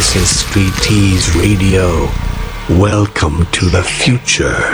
This is Street Tease Radio. Welcome to the future.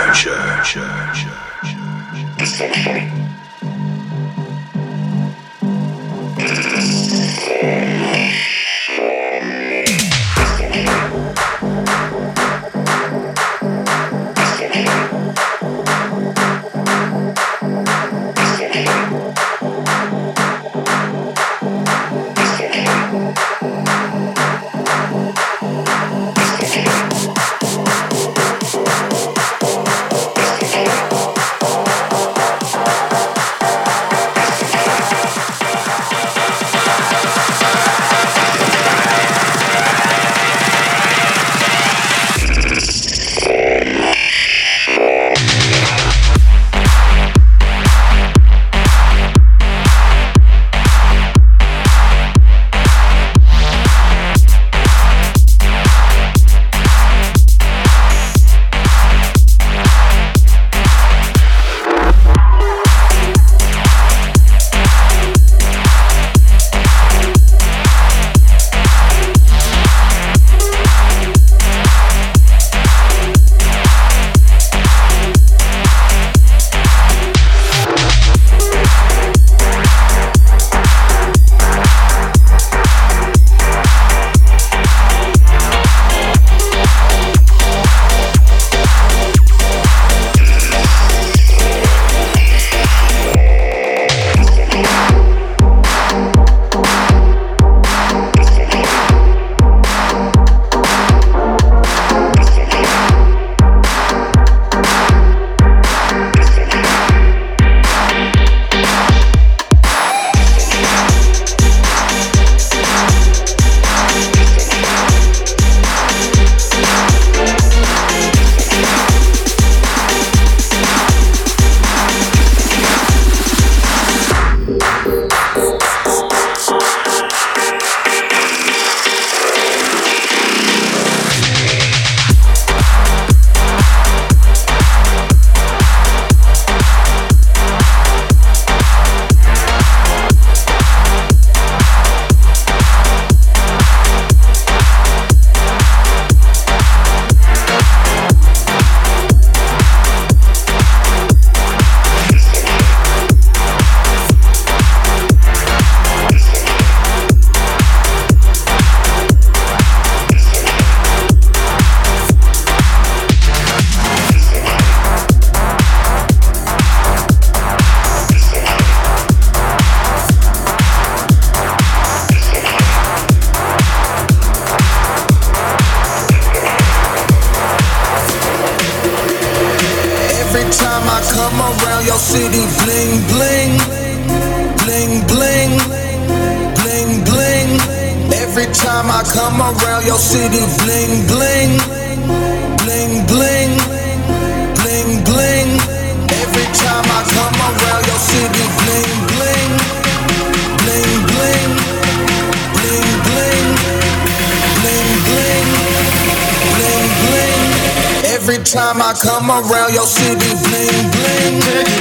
Time I come around your city, bling bling.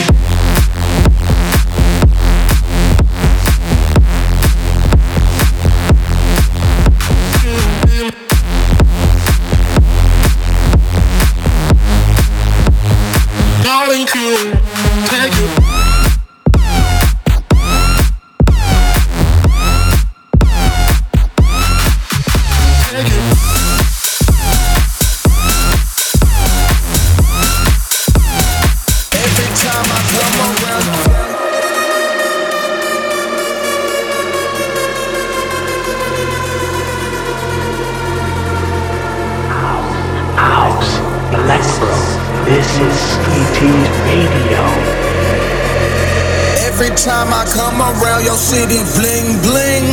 Darling, could take you. Time I come around your city, bling bling.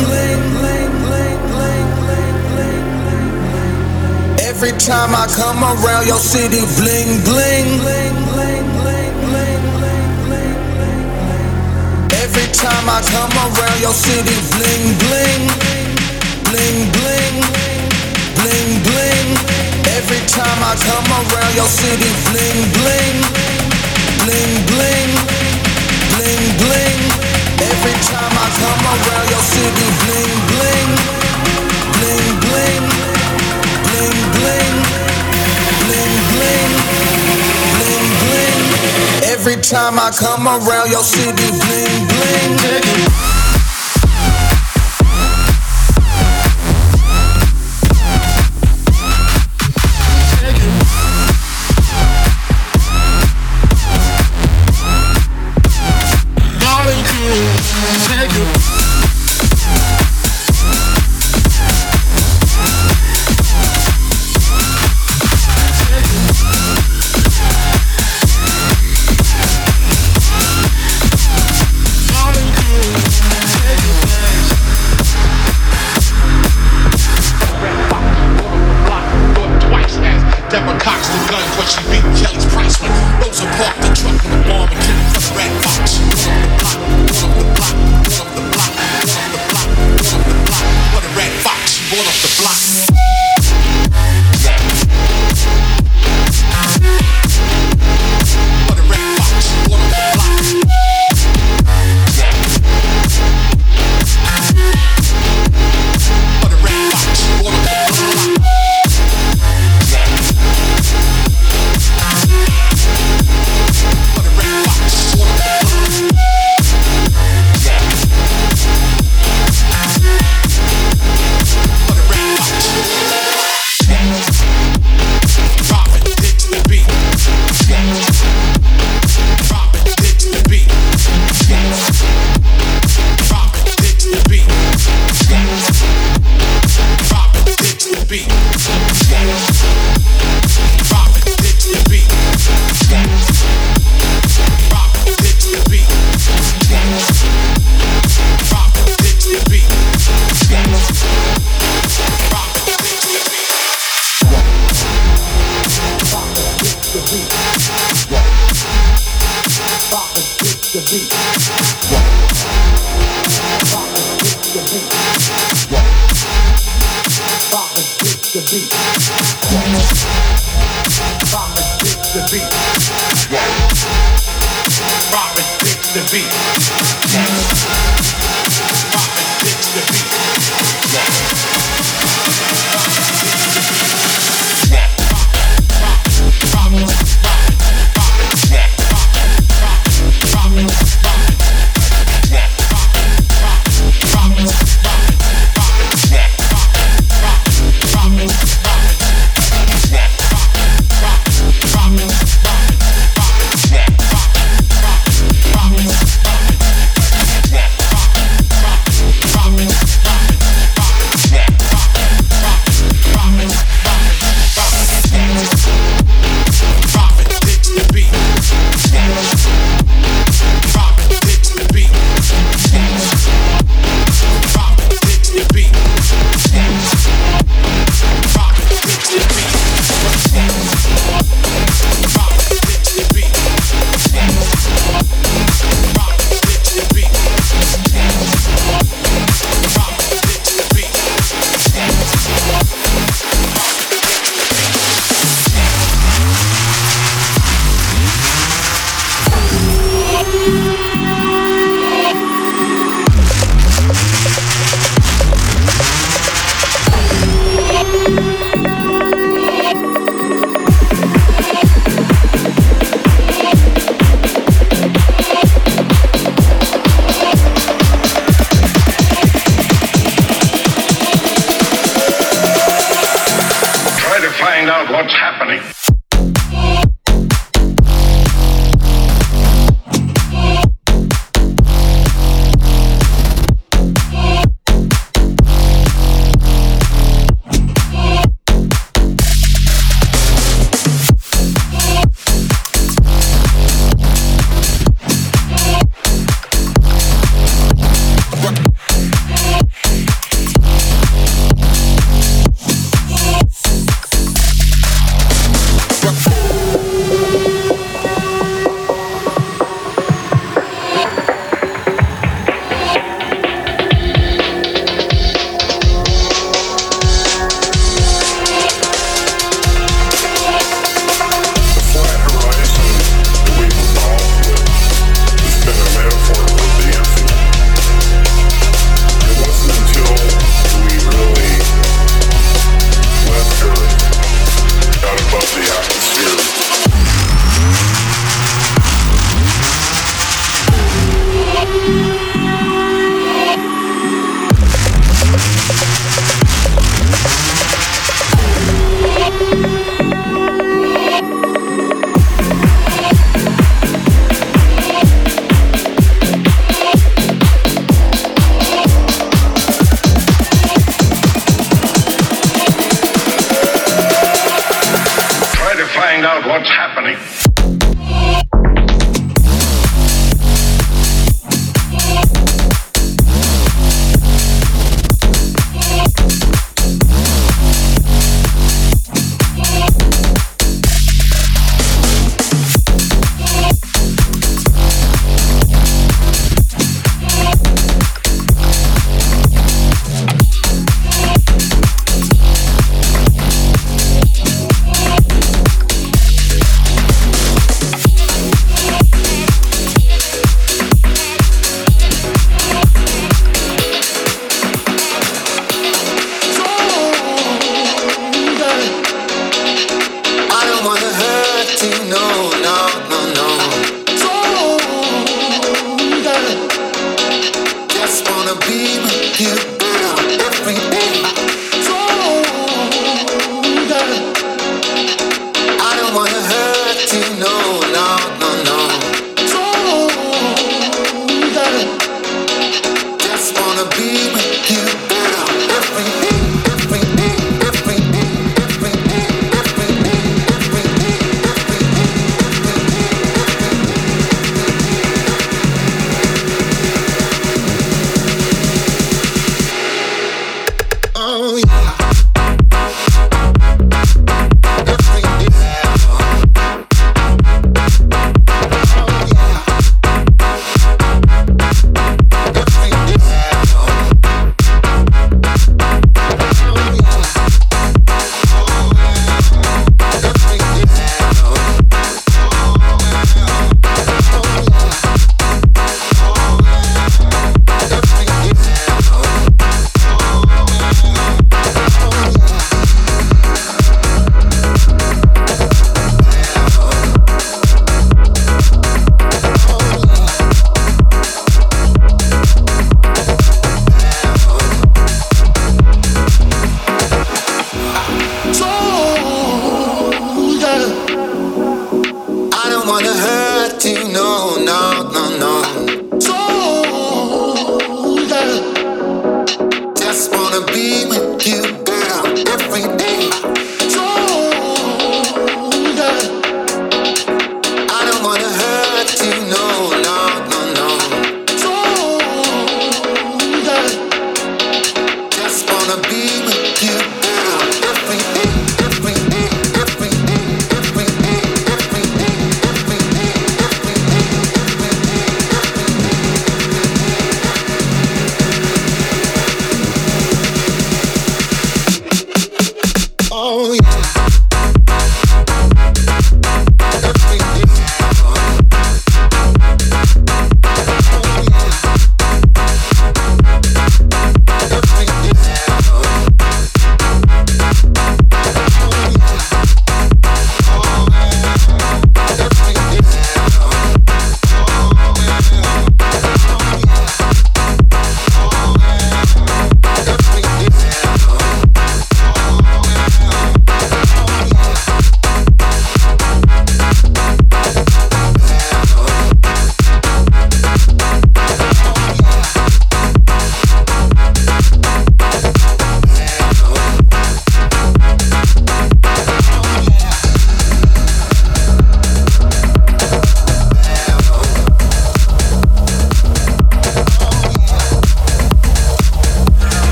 Every time I come around your city, bling bling. Every time I come around your city, bling bling. Bling bling. Bling bling. Every time I come around your city, bling bling. Bling bling. Bling bling. Every time I come around your city, bling bling. Bling bling. time I come around your city, bling bling. what's happening.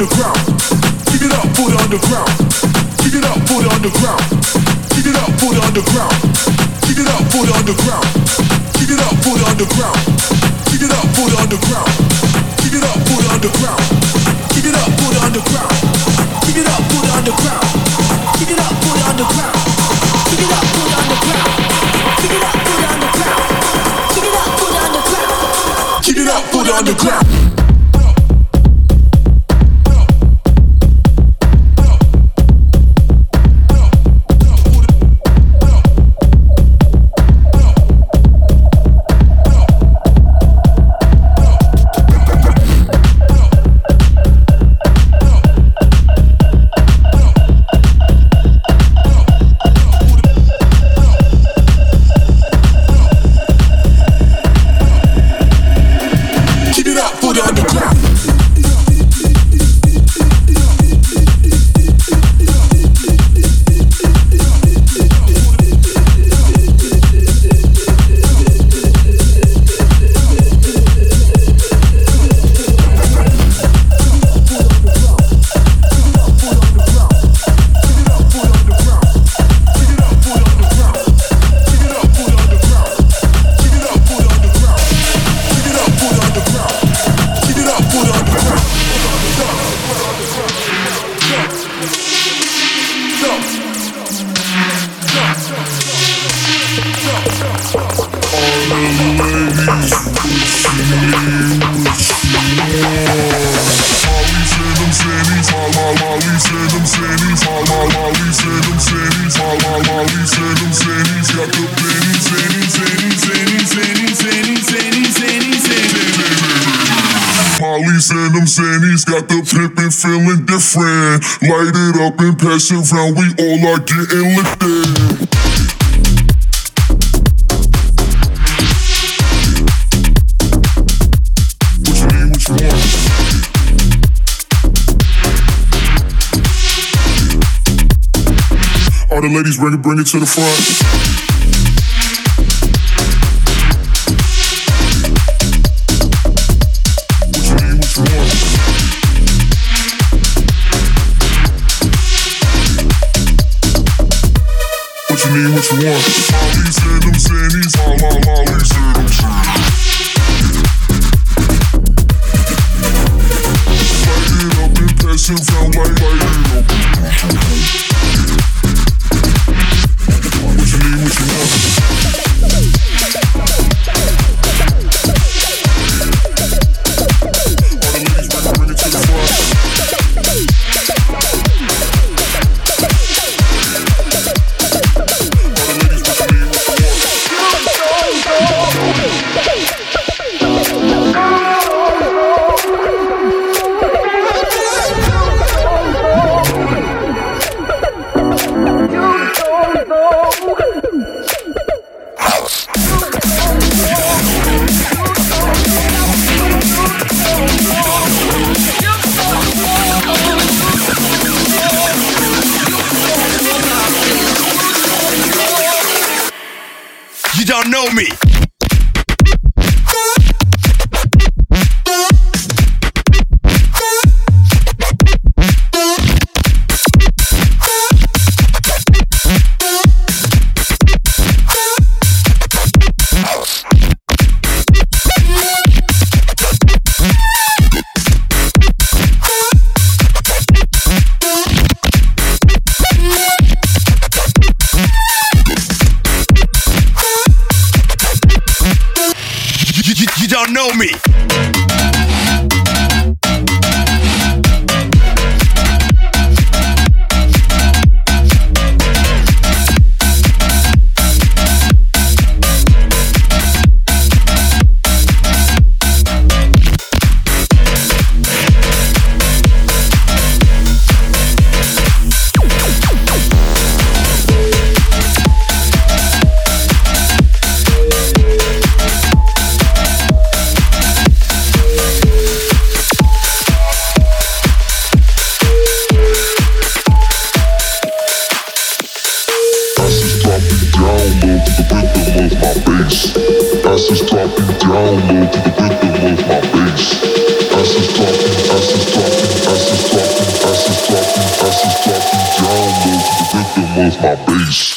underground. Give it up for the underground. Give it up for the underground. Give it up for the underground. Give it up for the underground. Give it up for the underground. Give it up for the underground. Give it up for the underground. Give it up for the underground. Give it up for the underground. Give it up for the underground. Give it up for the underground. Give it up for the underground. Give it up for the underground. Give it up for the underground. Got the pimpin' feeling different. Light it up and pass it round. We all are getting lifted. What you need, what you want? All the ladies bring it to the front. What you want? Molly said them sandies, Molly said them sandies. Light it up and pass it round, light it up. What you need, what you want? All the ladies bring it to the front. You don't know me. my bass.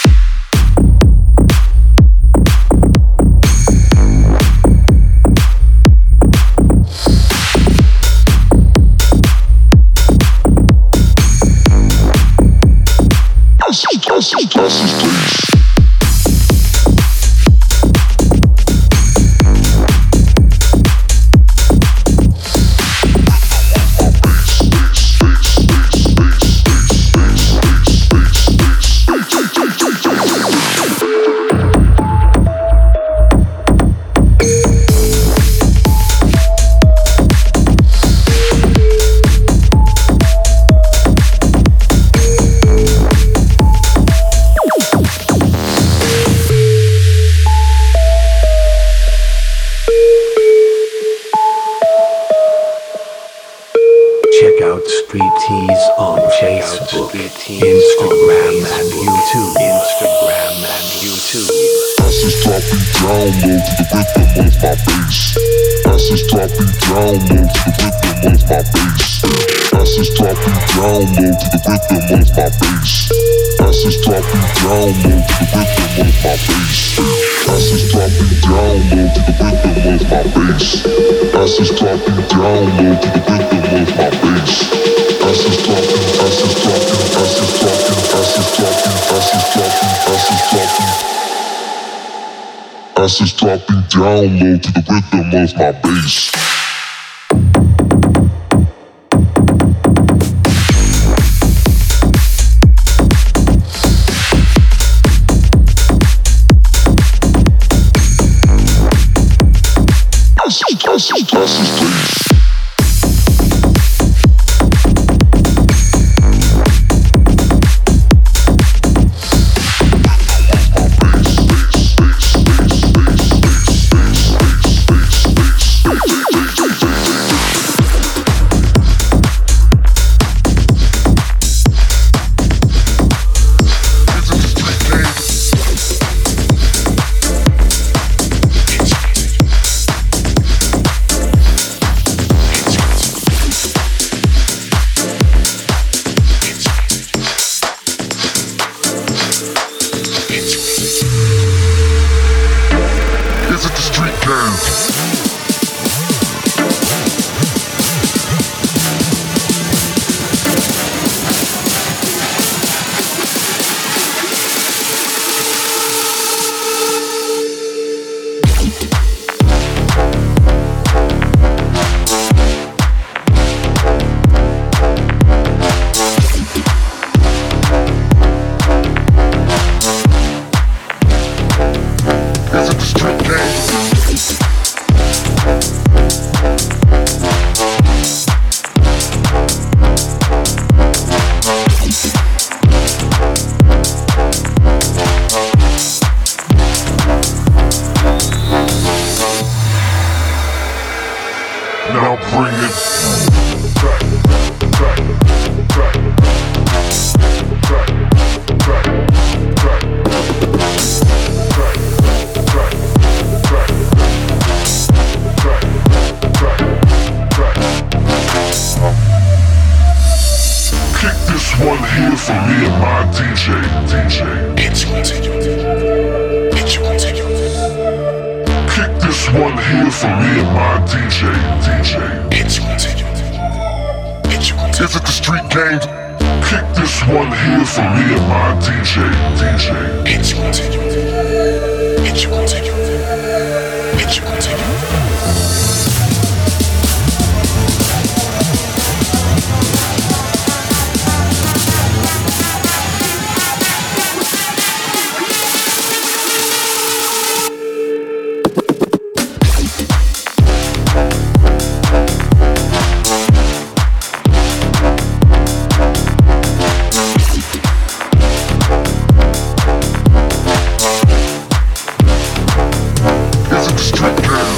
As it's dropping down low to the rhythm of my bass. Street gang.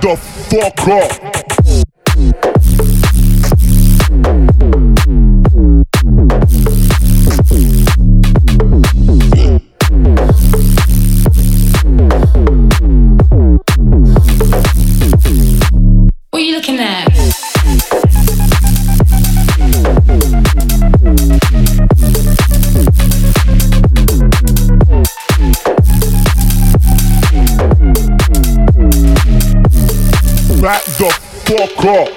the fuck up. What are you looking at? Back the fuck up.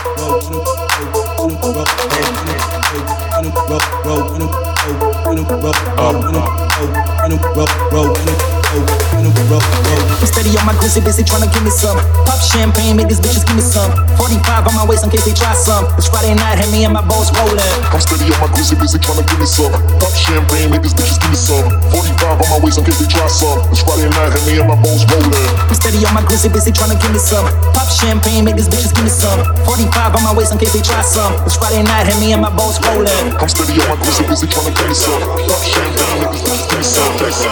I'm steady on my grizzly, busy tryna give me some. Pop champagne, make these bitches give me some. 45 on my waist in case they try some. It's Friday night, had me and my boss rolling. I'm steady on my grizzly, busy tryna give me some. Pop champagne, make these bitches give me some. 45 on my waist in case they try some. It's Friday night, had me and my boss rolling. I'm steady on my grizzly, busy tryna give me some. Pop champagne, make these bitches give me some. 45 on my waist in case they try some. It's Friday night, had me and my boss rolling. I'm steady on my grizzly, busy tryna give me some. Pop champagne, make these bitches give me some.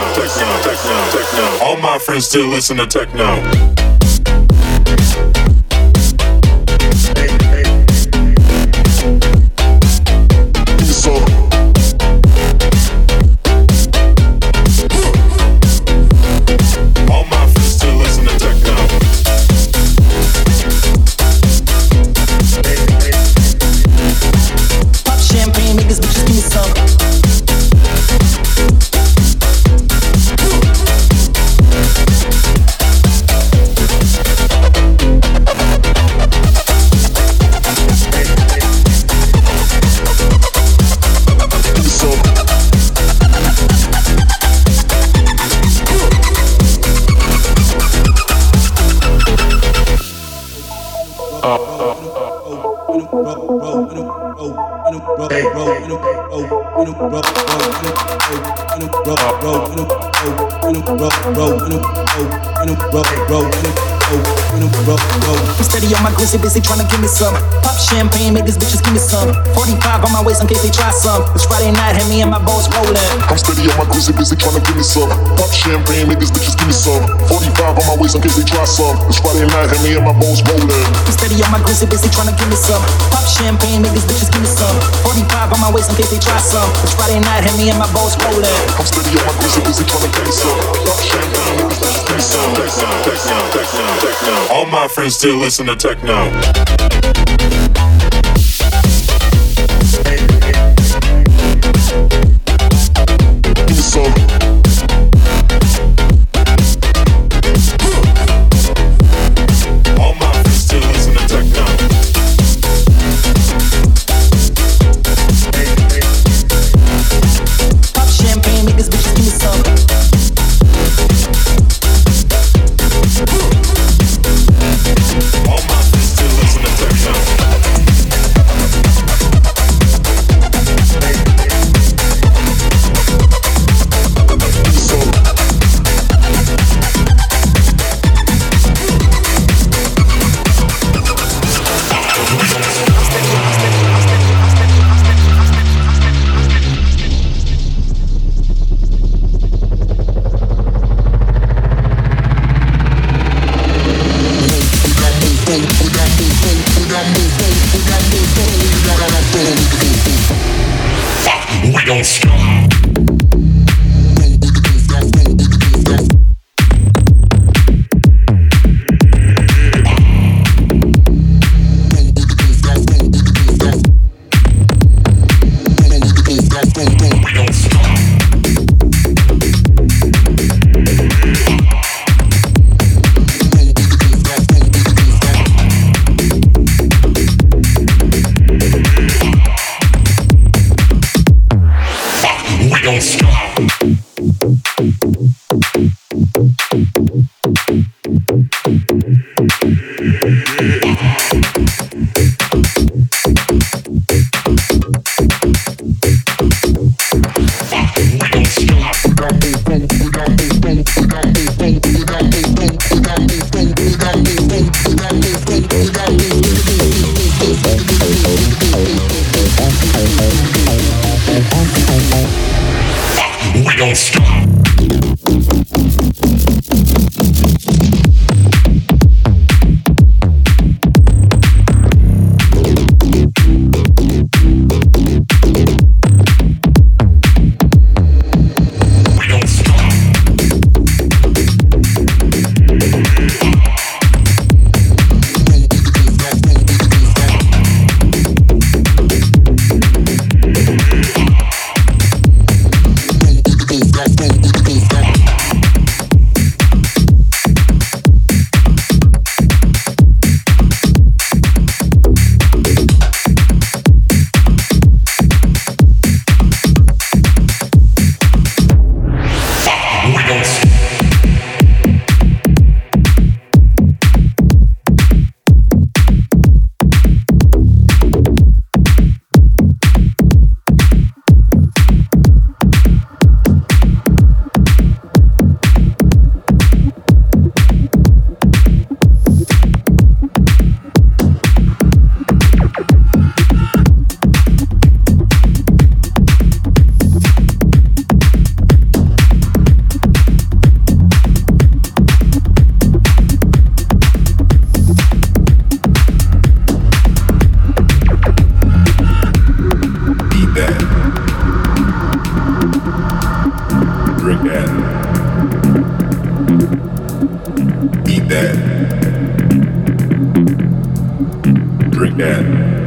All my friends still listen to techno. I'm steady on my grizzly, busy tryna give me some. Pop champagne, make these bitches give me some. 45 on my waist in case they try some. It's Friday night, had me and my boss rolling. I'm steady on my grizzly, busy tryna give me some. Pop champagne, make these bitches give me some. 45 on my waist in case they try some. It's Friday night, had me and my boss rolling. I'm steady on my grizzly, busy tryna give me some. Pop champagne, make these bitches give me some. 45 on my waist in case they try some. It's Friday night, had me and my boss rolling. I'm steady on my grizzly, busy tryna give me some. Pop champagne, make these bitches give me some. All my friends still listen to techno. Give me some. All my friends still listen to techno. Pop champagne, make these bitches give me some. All my friends still listen to techno. We don't stop. Don't stop. We don't stop. Drink that.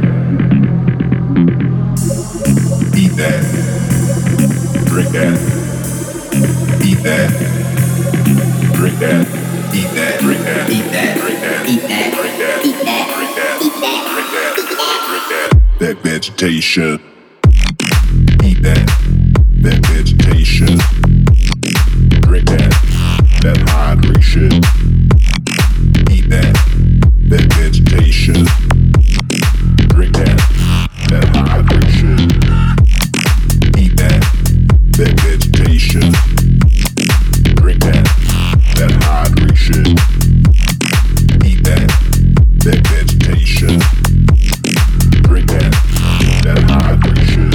Eat that. Drink that. Eat that. Drink that. Eat that. Drink that. Eat that. Drink that. Eat that. Drink that. Eat that. Drink that. Eat that. Drink that. Drink that. That vegetation. Eat that. That vegetation. Drink that. That hydration. Eat that. That vegetation. Drink that. That hydration. Eat that. That vegetation. Drink that. That hydration. Eat that. That vegetation. Drink that. That hydration.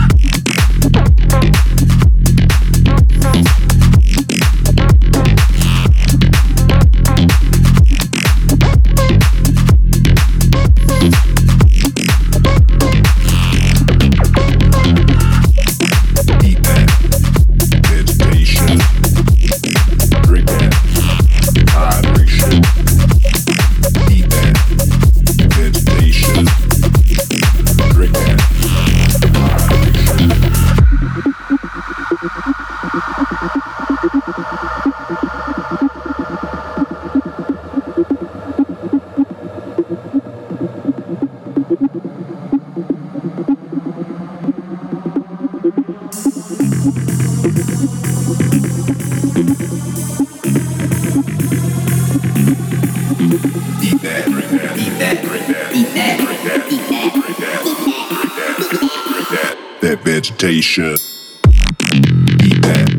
That vegetation. Eat that.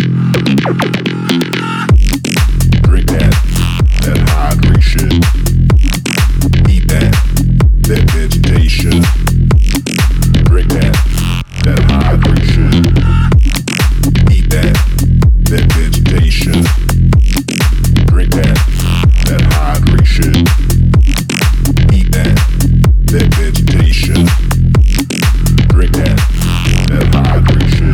Drink that. That hydration. Eat that. That vegetation. Drink that. That hydration. Eat that. That vegetation. Drink that. That hydration. Eat that. That vegetation. Drink that. That hydration.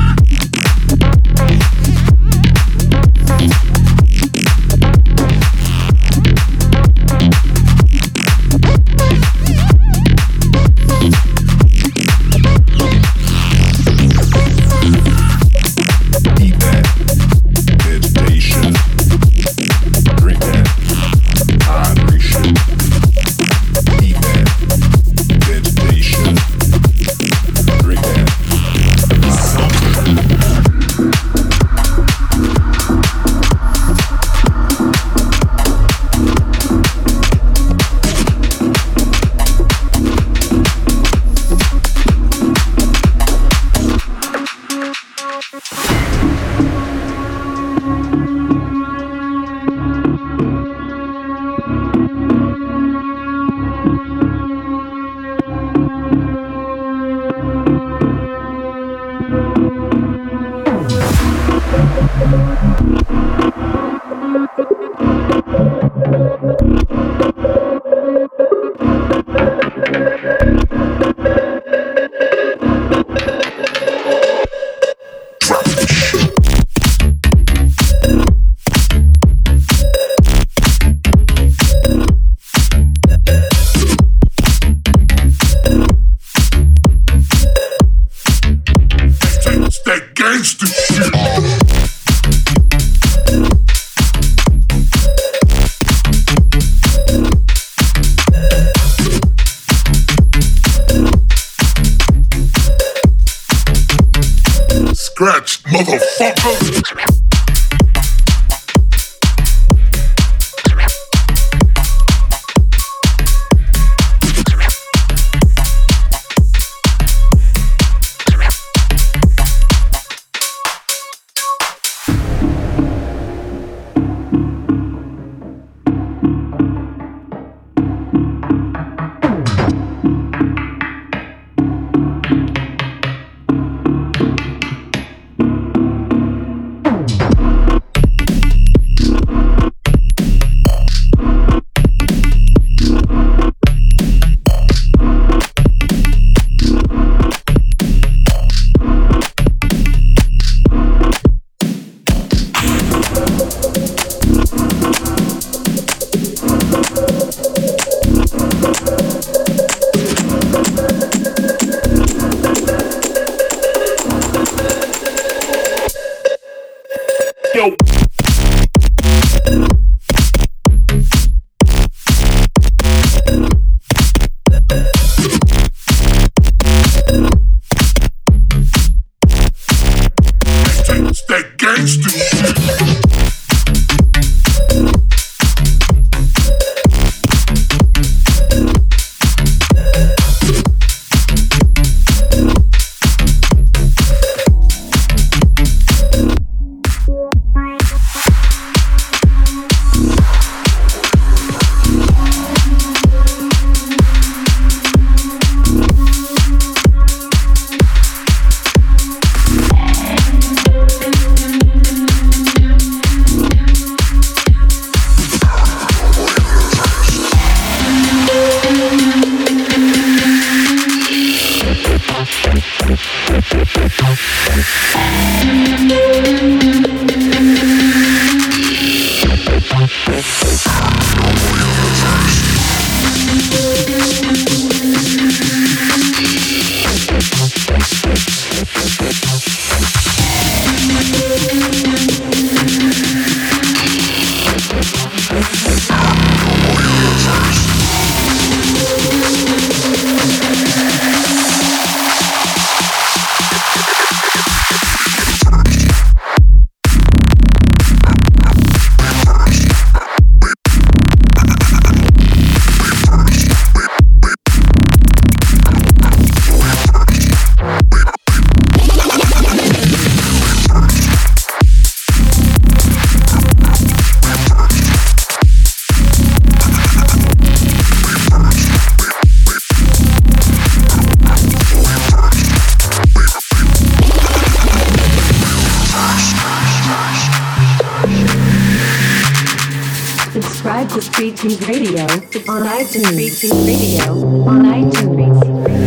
Eat that. Vegetation. Drink that. Hydration. Eat that. Vegetation. Drink that. That gangster shit. Scratch, motherfucker. Street Tunes Radio on iTunes. Street Tunes Radio on iTunes.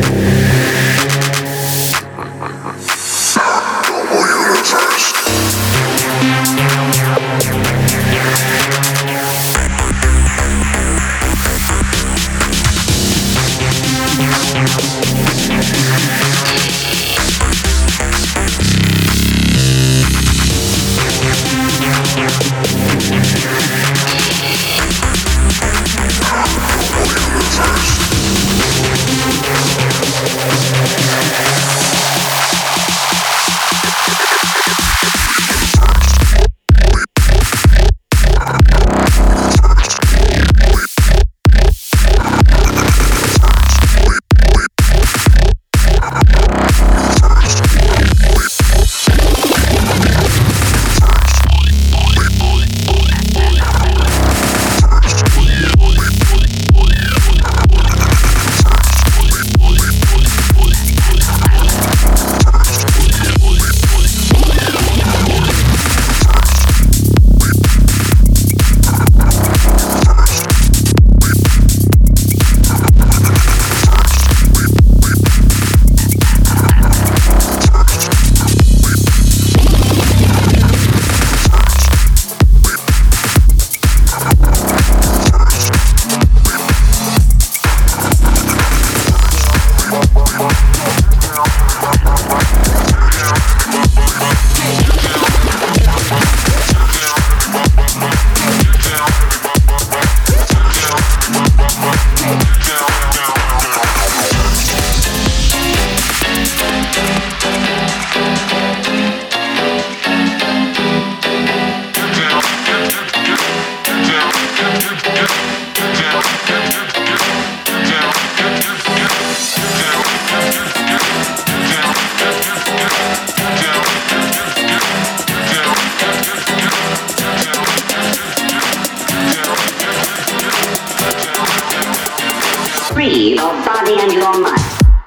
Free your body and your mind.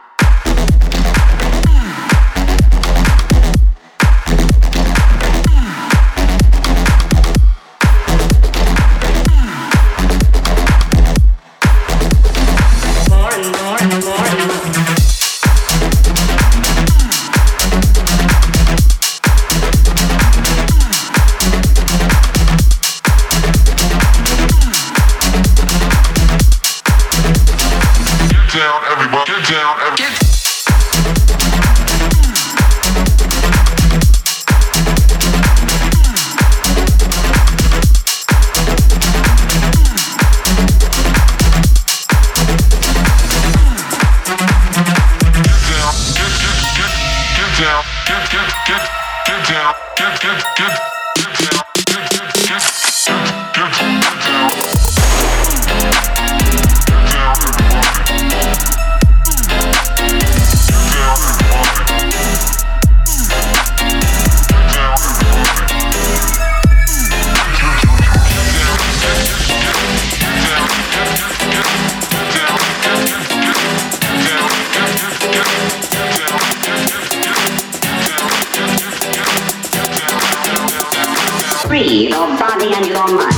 Free your body and your mind.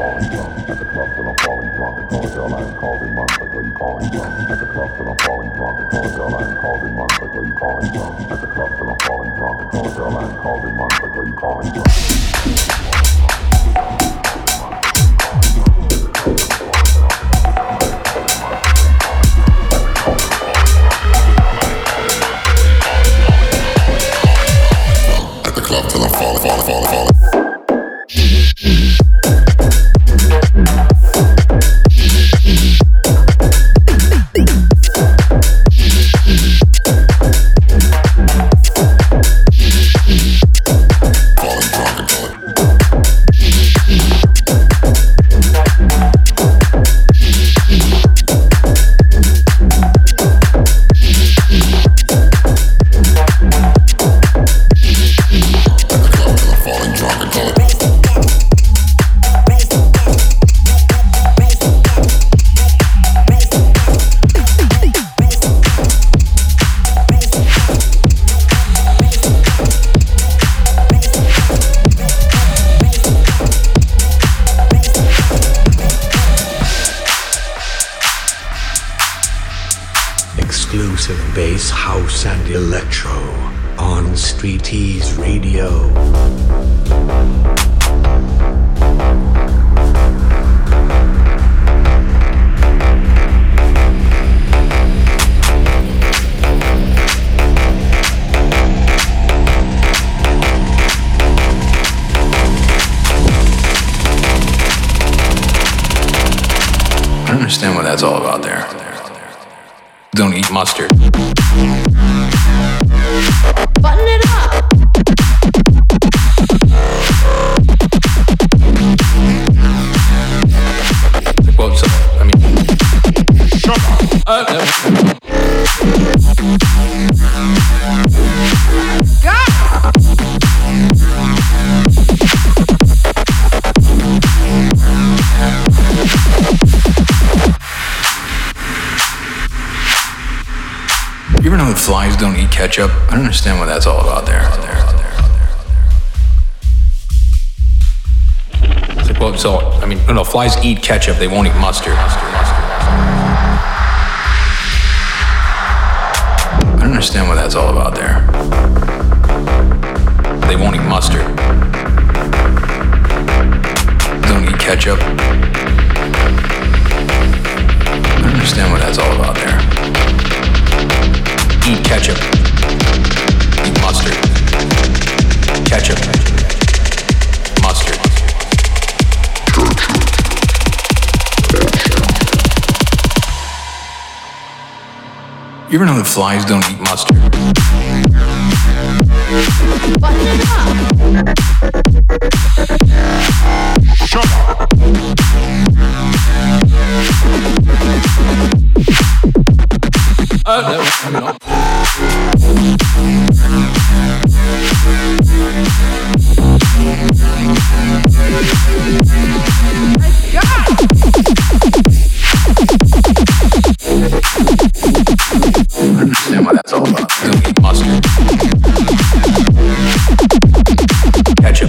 Flies don't eat ketchup. I don't understand what that's all about there. It's like, well, so, I mean, no, flies eat ketchup, they won't eat mustard. I don't understand what that's all about there. They won't eat mustard. Don't eat ketchup. I don't understand what that's all about there. Eat ketchup. Eat mustard. Ketchup. Mustard. You ever know that flies don't eat mustard? Button it up. Shut up. No. I understand what that's all about. Don't eat mustard. Ketchup.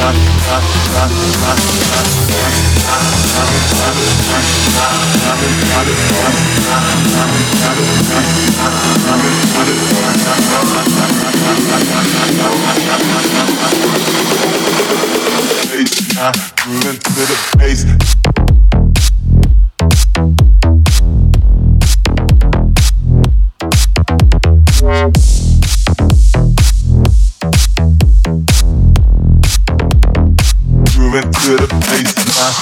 Moving to the bass. Moving to the bass.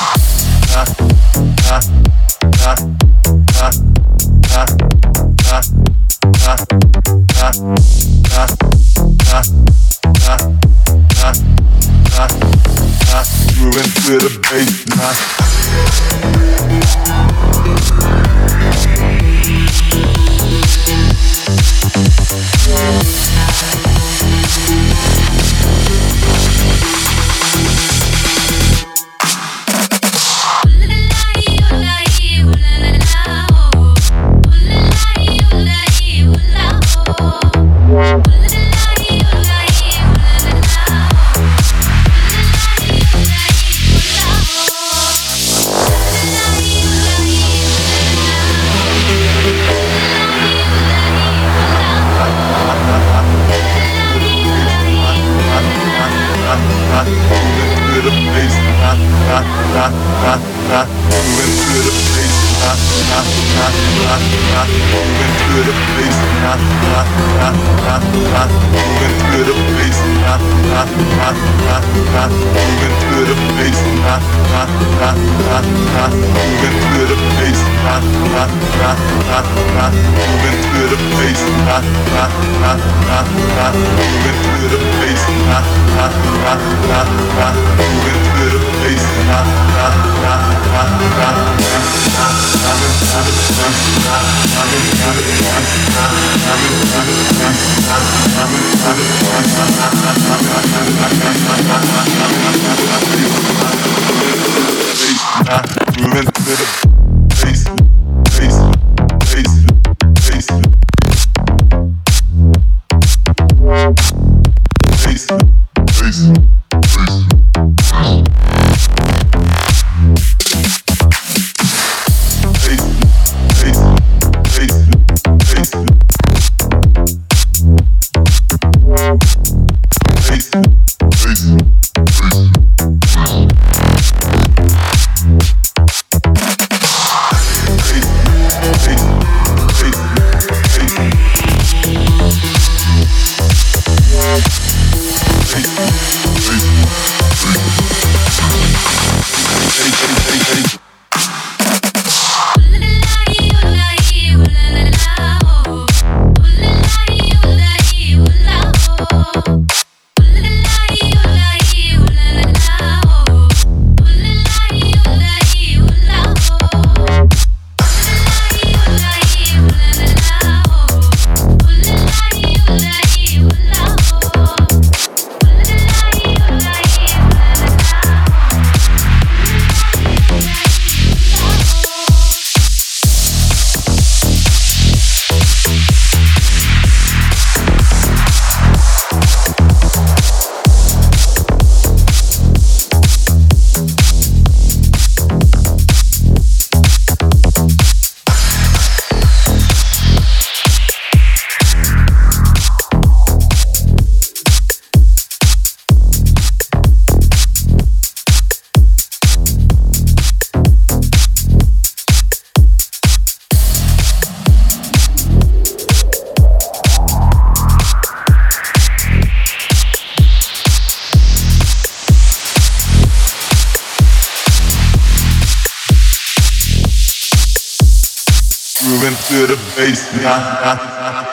Moving to the bass.